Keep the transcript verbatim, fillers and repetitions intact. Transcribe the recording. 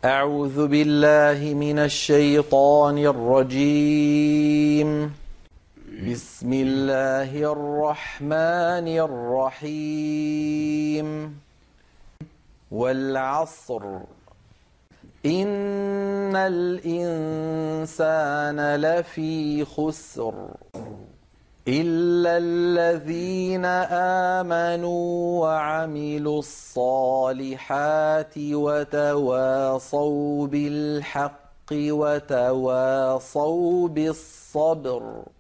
أعوذ بالله من الشيطان الرجيم. بسم الله الرحمن الرحيم. والعصر إن الإنسان لفي خسر إلا الذين آمنوا وعملوا الصالحات وتواصوا بالحق وتواصوا بالصبر